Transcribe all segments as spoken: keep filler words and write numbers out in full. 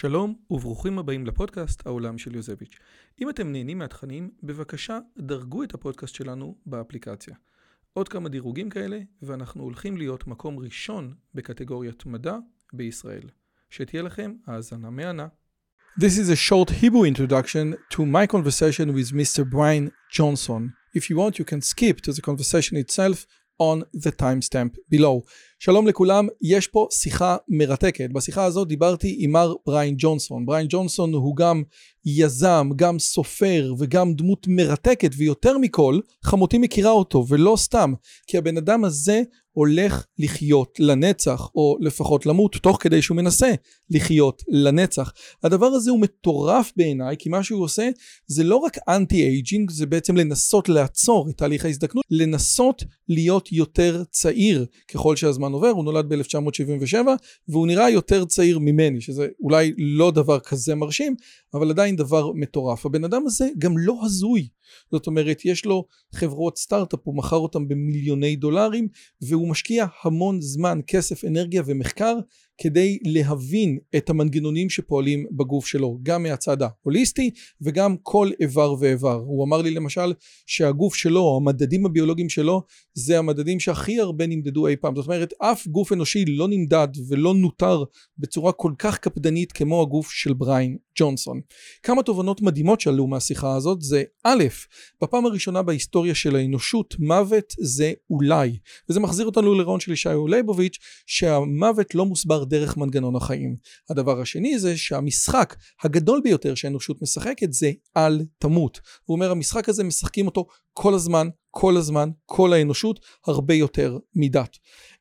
שלום וברוכים הבאים לפודקאסט העולם של יוזביץ'. אם אתם נהנים מהתכנים, בבקשה דרגו את הפודקאסט שלנו באפליקציה. עוד כמה דירוגים כאלה, ואנחנו הולכים להיות מקום ראשון בקטגוריית מדע בישראל. שתהיה לכם האזנה מהנה. This is a short Hebrew introduction to my conversation with Mister Brian Johnson. If you want, you can skip to the conversation itself on the timestamp below. שלום לכולם, יש פה שיחה מרתקת. בשיחה הזאת דיברתי עם מר בריין ג'ונסון. בריין ג'ונסון הוא גם יזם, גם סופר וגם דמות מרתקת, ויותר מכל, חמותי מכירה אותו, ולא סתם, כי הבן אדם הזה הולך לחיות לנצח, או לפחות למות, תוך כדי שהוא מנסה לחיות לנצח. הדבר הזה הוא מטורף בעיניי, כי מה שהוא עושה זה לא רק אנטי-אייג'ינג, זה בעצם לנסות לעצור את תהליך ההזדקנות, לנסות להיות יותר צעיר ככל שהזמן עובר. הוא נולד ב-אלף תשע מאות שבעים ושבע, והוא נראה יותר צעיר ממני, שזה אולי לא דבר כזה מרשים, אבל עדיין דבר מטורף. הבן אדם הזה גם לא הזוי. זאת אומרת, יש לו חברות סטארט-אפ, הוא מכר אותם במיליוני דולרים, והוא משקיע המון זמן, כסף, אנרגיה ומחקר, כדי להבין את המנגנונים שפועלים בגוף שלו, גם מהצד ההוליסטי, וגם כל איבר ואיבר. הוא אמר לי למשל, שהגוף שלו, המדדים הביולוגיים שלו, זה המדדים שהכי הרבה נמדדו אי פעם. זאת אומרת, אף גוף אנושי לא נמדד ולא נותר בצורה כל כך קפדנית כמו הגוף של בריין ג'ונסון. כמה תובנות מדהימות שעלו מהשיחה הזאת, זה א', בפעם הראשונה בהיסטוריה של האנושות, מוות זה אולי. וזה מחזיר אותנו לרעיון של ישעיהו ליבוביץ', שהמוות לא מוסבר דרך מנגנון החיים. הדבר השני זה שהמשחק הגדול ביותר שהאנושות משחקת זה אל תמות. הוא אומר, המשחק הזה משחקים אותו כל הזמן, כל הזמן, כל האנושות, הרבה יותר מידת.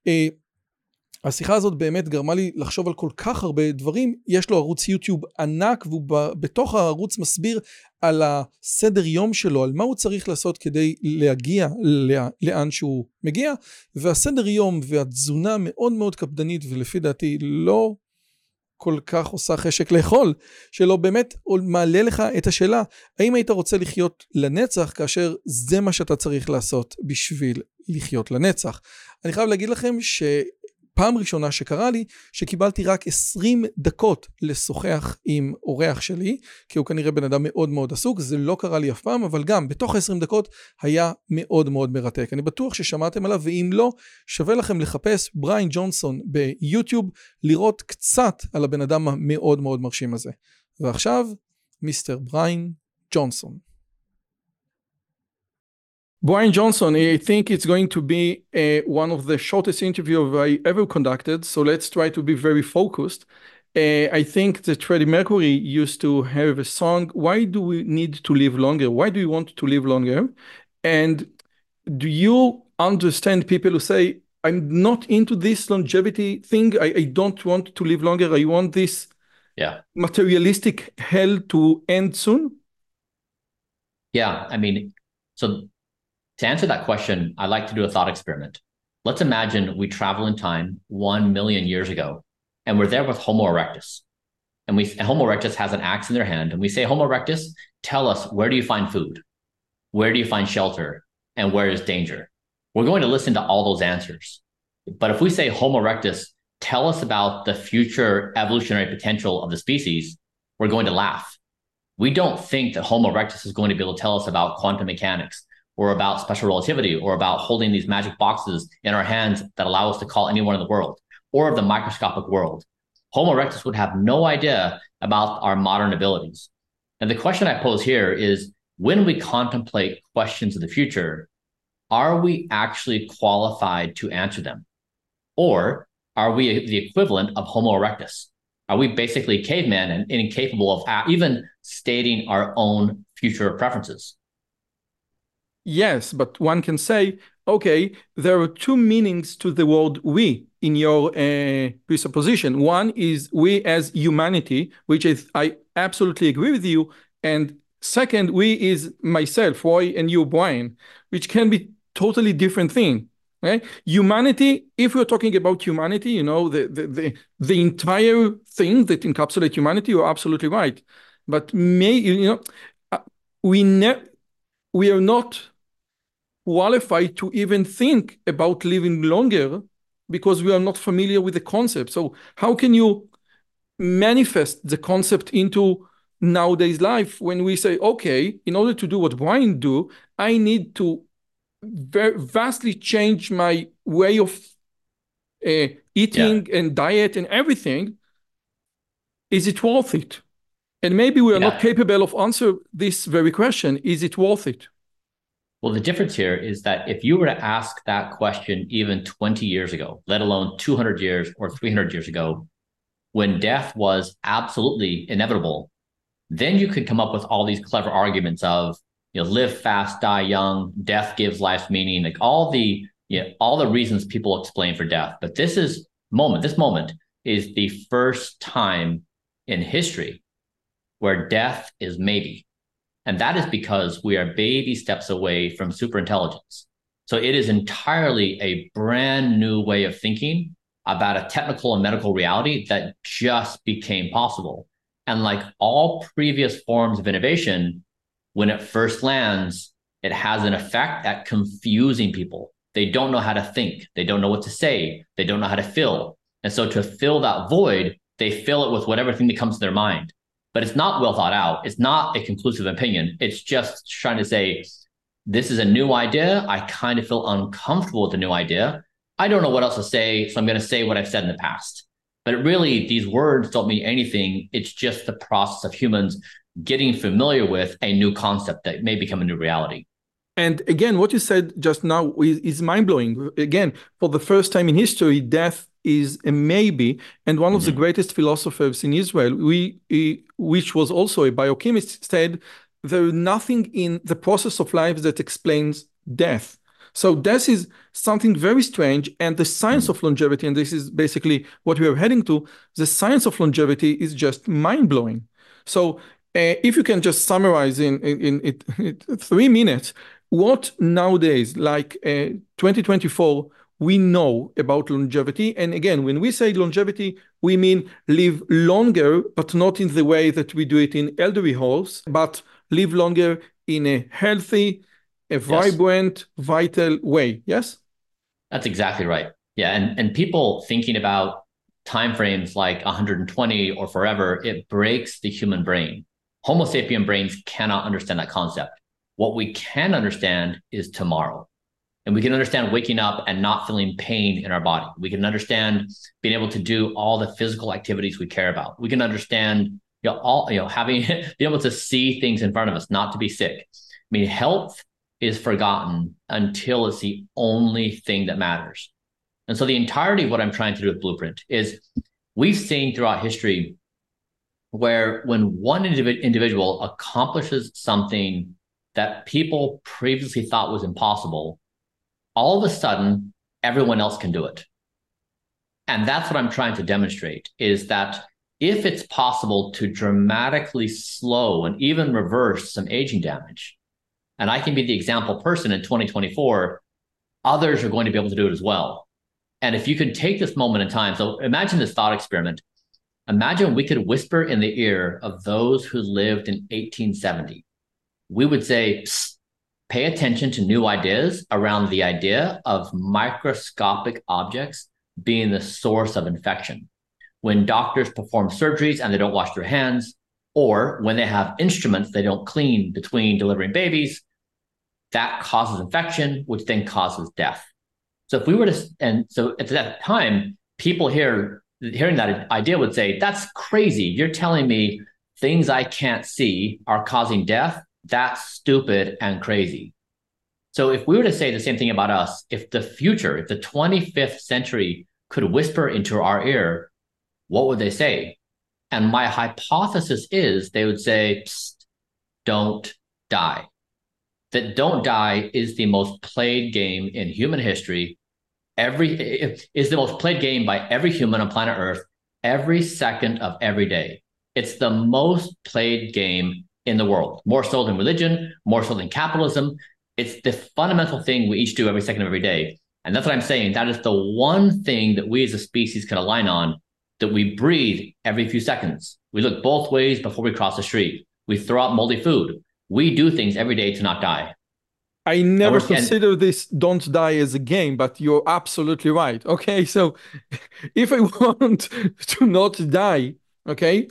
השיחה הזאת באמת גרמה לי לחשוב על כל כך הרבה דברים. יש לו ערוץ יוטיוב ענק, והוא בתוך הערוץ מסביר על הסדר יום שלו, על מה הוא צריך לעשות כדי להגיע לאן שהוא מגיע, והסדר יום והתזונה מאוד מאוד קפדנית, ולפי דעתי לא כל כך עושה חשק לאכול, שלא באמת מעלה לך את השאלה, האם היית רוצה לחיות לנצח, כאשר זה מה שאתה צריך לעשות בשביל לחיות לנצח. אני חייב להגיד לכם ש... פעם ראשונה שקרה לי, שקיבלתי רק עשרים דקות לשוחח עם אורח שלי, כי הוא כנראה בן אדם מאוד מאוד עסוק, זה לא קרה לי אף פעם, אבל גם בתוך עשרים דקות היה מאוד מאוד מרתק. אני בטוח ששמעתם עליו, ואם לא, שווה לכם לחפש בריין ג'ונסון ביוטיוב, לראות קצת על הבן אדם המאוד מאוד מרשים הזה. ועכשיו, מיסטר בריין ג'ונסון. Brian Johnson, I think it's going to be uh, one of the shortest interviews I ever conducted, so let's try to be very focused. Uh, I think that Freddie Mercury used to have a song, Why do we need to live longer? Why do we want to live longer? And do you understand people who say, I'm not into this longevity thing, I, I don't want to live longer, I want this yeah. materialistic hell to end soon? Yeah, I mean, so... To answer that question, I like to do a thought experiment. Let's imagine we travel in time one million years ago, and we're there with Homo erectus. And we and Homo erectus has an axe in their hand, and we say, Homo erectus, tell us, where do you find food? Where do you find shelter? And where is danger? We're going to listen to all those answers. But if we say, Homo erectus, tell us about the future evolutionary potential of the species, we're going to laugh. We don't think that Homo erectus is going to be able to tell us about quantum mechanics, or about special relativity, or about holding these magic boxes in our hands that allow us to call anyone in the world, or of the microscopic world. Homo erectus would have no idea about our modern abilities. And the question I pose here is, when we contemplate questions of the future, are we actually qualified to answer them? Or are we the equivalent of Homo erectus? Are we basically cavemen and incapable of even stating our own future preferences? Yes, but one can say, okay, there are two meanings to the word we in your uh, presupposition. One is we as humanity, which is, I absolutely agree with you. And second, we is myself, Roy, and you, Brian, which can be totally different thing. Right? Humanity, if we're talking about humanity, you know, the, the, the, the entire thing that encapsulates humanity, you're absolutely right. But may, you know, we ne- we are not qualified to even think about living longer because we are not familiar with the concept. So how can you manifest the concept into nowadays life when we say, okay, in order to do what Brian do, I need to very vastly change my way of uh, eating yeah. and diet and everything. Is it worth it? And maybe we are yeah. not capable of answer this very question. Is it worth it? Well, the difference here is that if you were to ask that question even twenty years ago, let alone two hundred years or three hundred years ago, when death was absolutely inevitable, then you could come up with all these clever arguments of, you know, live fast, die young, death gives life meaning, like all the, you know, all the reasons people explain for death. But this is moment, this moment is the first time in history where death is maybe. And that is because we are baby steps away from superintelligence. So it is entirely a brand new way of thinking about a technical and medical reality that just became possible. And like all previous forms of innovation, when it first lands, it has an effect at confusing people. They don't know how to think. They don't know what to say. They don't know how to fill. And so to fill that void, they fill it with whatever thing that comes to their mind. But it's not well thought out. It's not a conclusive opinion. It's just trying to say, this is a new idea. I kind of feel uncomfortable with the new idea. I don't know what else to say, so I'm going to say what I've said in the past. But really, these words don't mean anything. It's just the process of humans getting familiar with a new concept that may become a new reality. And again, what you said just now is, is mind-blowing. Again, for the first time in history, death is a maybe. And one mm-hmm. of the greatest philosophers in Israel, we, he, which was also a biochemist, said there is nothing in the process of life that explains death. So death is something very strange, and the science mm-hmm. of longevity, and this is basically what we are heading to, the science of longevity is just mind-blowing. So uh, if you can just summarize in, in, in, in, in three minutes, what nowadays, like uh, twenty twenty-four, we know about longevity. And again, when we say longevity, we mean live longer, but not in the way that we do it in elderly homes, but live longer in a healthy, a vibrant, yes. vital way. Yes? That's exactly right. Yeah. And, and people thinking about timeframes like one hundred twenty or forever, it breaks the human brain. Homo sapien brains cannot understand that concept. What we can understand is tomorrow. And we can understand waking up and not feeling pain in our body. We can understand being able to do all the physical activities we care about. We can understand, you know, all, you know, having, being able to see things in front of us, not to be sick. I mean, health is forgotten until it's the only thing that matters. And so the entirety of what I'm trying to do with Blueprint is we've seen throughout history where when one individ- individual accomplishes something that people previously thought was impossible, all of a sudden, everyone else can do it. And that's what I'm trying to demonstrate, is that if it's possible to dramatically slow and even reverse some aging damage, and I can be the example person in twenty twenty-four, others are going to be able to do it as well. And if you could take this moment in time, so imagine this thought experiment. Imagine we could whisper in the ear of those who lived in eighteen seventy. We would say, pay attention to new ideas around the idea of microscopic objects being the source of infection. When doctors perform surgeries and they don't wash their hands, or when they have instruments they don't clean between delivering babies, that causes infection, which then causes death. So if we were to, and so at that time, people here, hearing that idea would say, that's crazy. You're telling me things I can't see are causing death? That's stupid and crazy. So if we were to say the same thing about us, if the future, if the twenty-fifth century could whisper into our ear, what would they say? And my hypothesis is they would say, psst, don't die. That don't die is the most played game in human history. Every is the most played game by every human on planet Earth every second of every day. It's the most played game in the world, more so than religion, more so than capitalism. It's the fundamental thing we each do every second of every day. And that's what I'm saying. That is the one thing that we as a species can align on, that we breathe every few seconds. We look both ways before we cross the street. We throw out moldy food. We do things every day to not die. I never consider this don't die as a game, but you're absolutely right. Okay, so if I want to not die, Okay.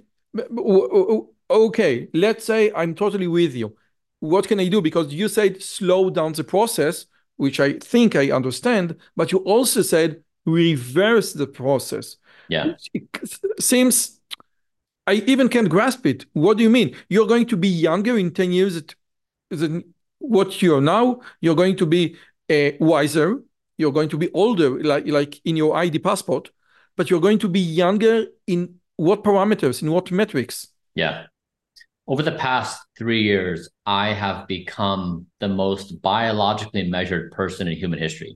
Okay. Let's say I'm totally with you. What can I do? Because you said slow down the process, which I think I understand, but you also said reverse the process, Yeah. which seems I even can't grasp it. What do you mean? You're going to be younger in ten years than what you're now. You're going to be uh, wiser. You're going to be older, like, like in your I D passport, but you're going to be younger in what parameters, in what metrics? Yeah. Over the past three years, I have become the most biologically measured person in human history.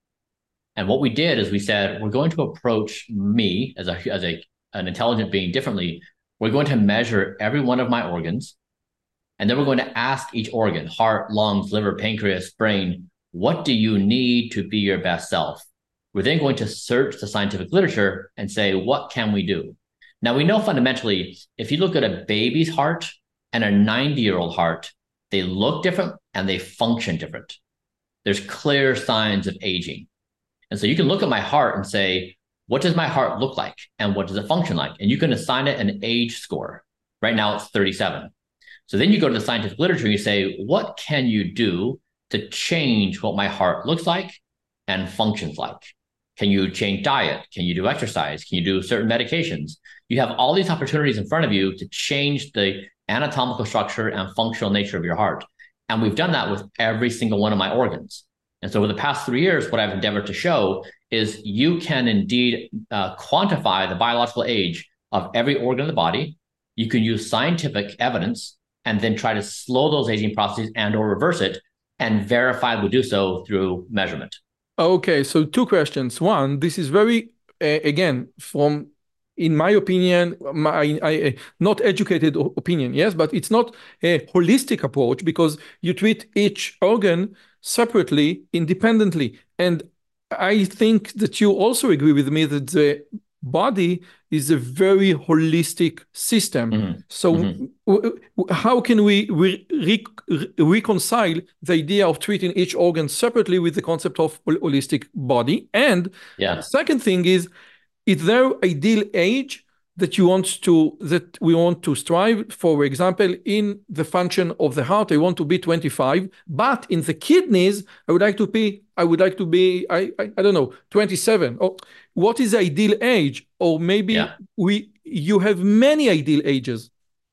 And what we did is we said, we're going to approach me as a, as a, an intelligent being differently. We're going to measure every one of my organs. And then we're going to ask each organ, heart, lungs, liver, pancreas, brain, what do you need to be your best self? We're then going to search the scientific literature and say, what can we do? Now, we know fundamentally, if you look at a baby's heart and a ninety-year-old heart, they look different and they function different. There's clear signs of aging. And so you can look at my heart and say, what does my heart look like? And what does it function like? And you can assign it an age score. Right now, it's thirty-seven. So then you go to the scientific literature and you say, what can you do to change what my heart looks like and functions like? Can you change diet? Can you do exercise? Can you do certain medications? You have all these opportunities in front of you to change the anatomical structure and functional nature of your heart. And we've done that with every single one of my organs. And so over the past three years, what I've endeavored to show is you can indeed uh, quantify the biological age of every organ of the body. You can use scientific evidence and then try to slow those aging processes and or reverse it, and verifiably do so through measurement. Okay, so two questions. One, this is very, uh, again, from, in my opinion, my I, not educated opinion, yes, but it's not a holistic approach because you treat each organ separately, independently. And I think that you also agree with me that the body is a very holistic system. Mm-hmm. So mm-hmm. w- w- how can we re- re- reconcile the idea of treating each organ separately with the concept of holistic body? And yeah. The second thing is, is there ideal age that you want to, that we want to strive? For example, in the function of the heart, I want to be twenty-five, but in the kidneys, I would like to be, I would like to be, I, I, I don't know, twenty-seven. Or what is the ideal age? Or maybe yeah. we, you have many ideal ages.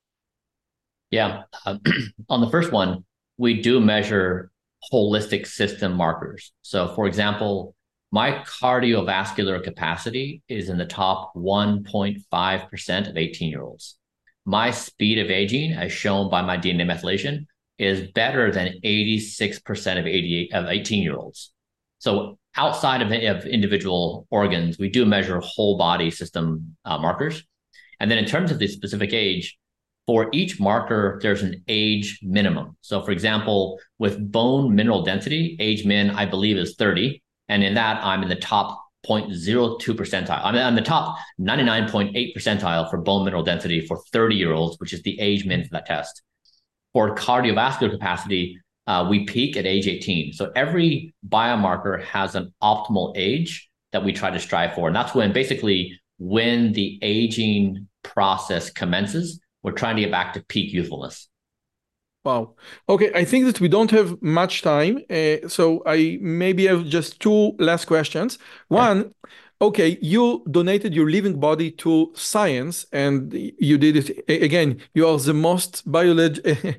Yeah. Uh, on the first one, we do measure holistic system markers. So for example, my cardiovascular capacity is in the top one point five percent of eighteen-year-olds. My speed of aging, as shown by my D N A methylation, is better than eighty-six percent of eighty-eight of eighteen-year-olds. So outside of, of individual organs, we do measure whole body system uh, markers. And then in terms of the specific age, for each marker, there's an age minimum. So for example, with bone mineral density, age min, I believe, is thirty. And in that, I'm in the top zero point zero two percentile. I'm in the top ninety-nine point eight percentile for bone mineral density for thirty-year-olds, which is the age min for that test. For cardiovascular capacity, uh, we peak at age eighteen. So every biomarker has an optimal age that we try to strive for. And that's when basically when the aging process commences, we're trying to get back to peak youthfulness. Wow. Okay, I think that we don't have much time, uh, so I maybe have just two last questions. One, okay, you donated your living body to science, and you did it again. You are the most biolog-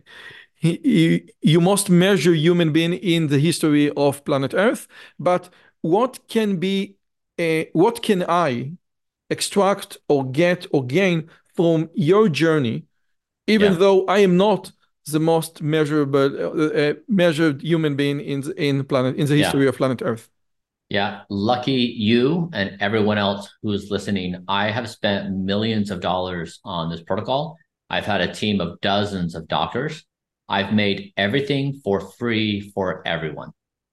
you, you most measure human being in the history of planet Earth. But what can be, uh, what can I extract or get or gain from your journey, even yeah. though I am not the most measurable, uh, uh, measured human being in the, in planet in the history yeah. of planet Earth? Yeah, lucky you and everyone else who's listening. I have spent millions of dollars on this protocol. I've had a team of dozens of doctors. I've made everything for free for everyone.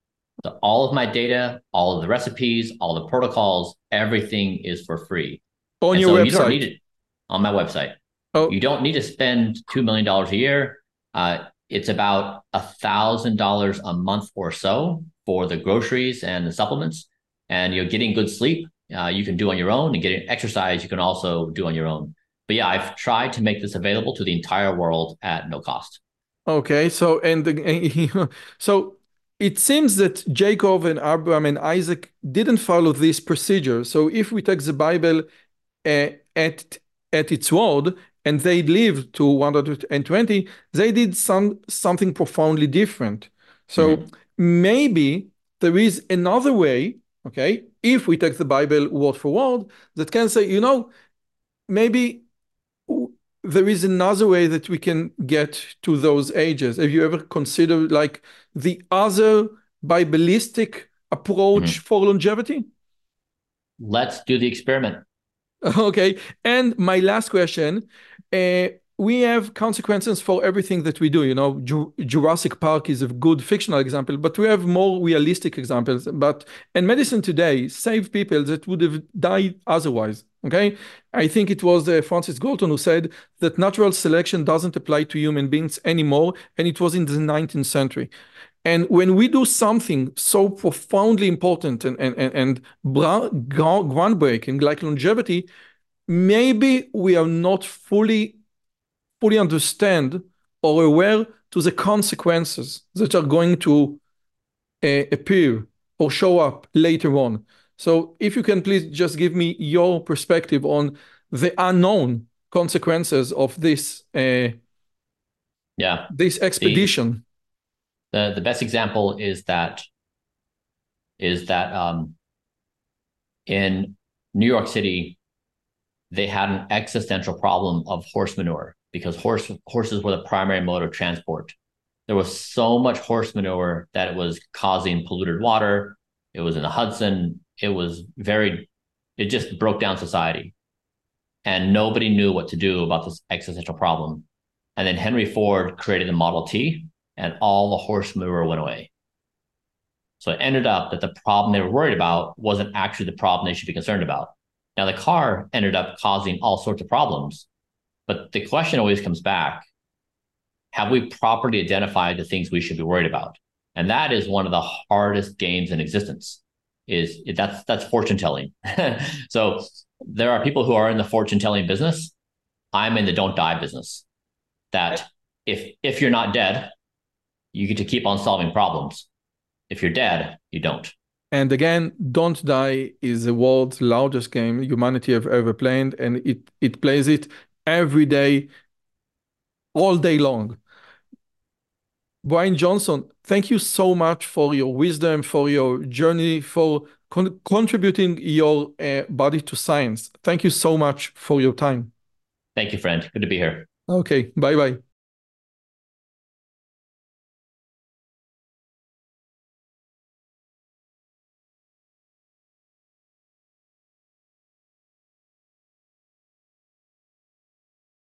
So all of my data, all of the recipes, all the protocols, everything is for free. On and your so website? You don't need it on my website. Oh. You don't need to spend two million dollars a year. Uh, it's about a thousand dollars a month or so for the groceries and the supplements, and you're getting good sleep. Uh, you can do on your own, and getting exercise you can also do on your own. but yeah, I've tried to make this available to the entire world at no cost. Okay, so and the, so it seems that Jacob and Abraham and Isaac didn't follow this procedure. So if we take the Bible uh, at at its word and they lived to one hundred twenty, they did some something profoundly different. So mm-hmm. maybe there is another way, okay, if we take the Bible word for word, that can say, you know, maybe there is another way that we can get to those ages. Have you ever considered like the other Biblistic approach mm-hmm. for longevity? Let's do the experiment. Okay. And my last question, uh, we have consequences for everything that we do. You know, Ju- Jurassic Park is a good fictional example, but we have more realistic examples. But in medicine today, save people that would have died otherwise. Okay. I think it was uh, Francis Galton who said that natural selection doesn't apply to human beings anymore. And it was in the nineteenth century. And when we do something so profoundly important and, and, and, and groundbreaking like longevity, maybe we are not fully fully understand or aware to the consequences that are going to uh, appear or show up later on. So if you can please just give me your perspective on the unknown consequences of this uh, yeah this expedition. The, the the best example is that is that um, in New York City, they had an existential problem of horse manure because horse horses were the primary mode of transport. There was so much horse manure that it was causing polluted water. It was in the Hudson. It was very, it just broke down society. And nobody knew what to do about this existential problem. And then Henry Ford created the Model T, and all the horse manure went away. So it ended up that the problem they were worried about wasn't actually the problem they should be concerned about. Now, the car ended up causing all sorts of problems. But the question always comes back, have we properly identified the things we should be worried about? And that is one of the hardest games in existence, is that's that's fortune telling. So there are people who are in the fortune telling business. I'm in the don't die business. That if if you're not dead, you get to keep on solving problems. If you're dead, you don't. And again, Don't Die is the world's largest game humanity have ever played, and it it plays it every day, all day long. Brian Johnson, thank you so much for your wisdom, for your journey, for con- contributing your uh, body to science. Thank you so much for your time. Thank you, friend. Good to be here. Okay, bye-bye.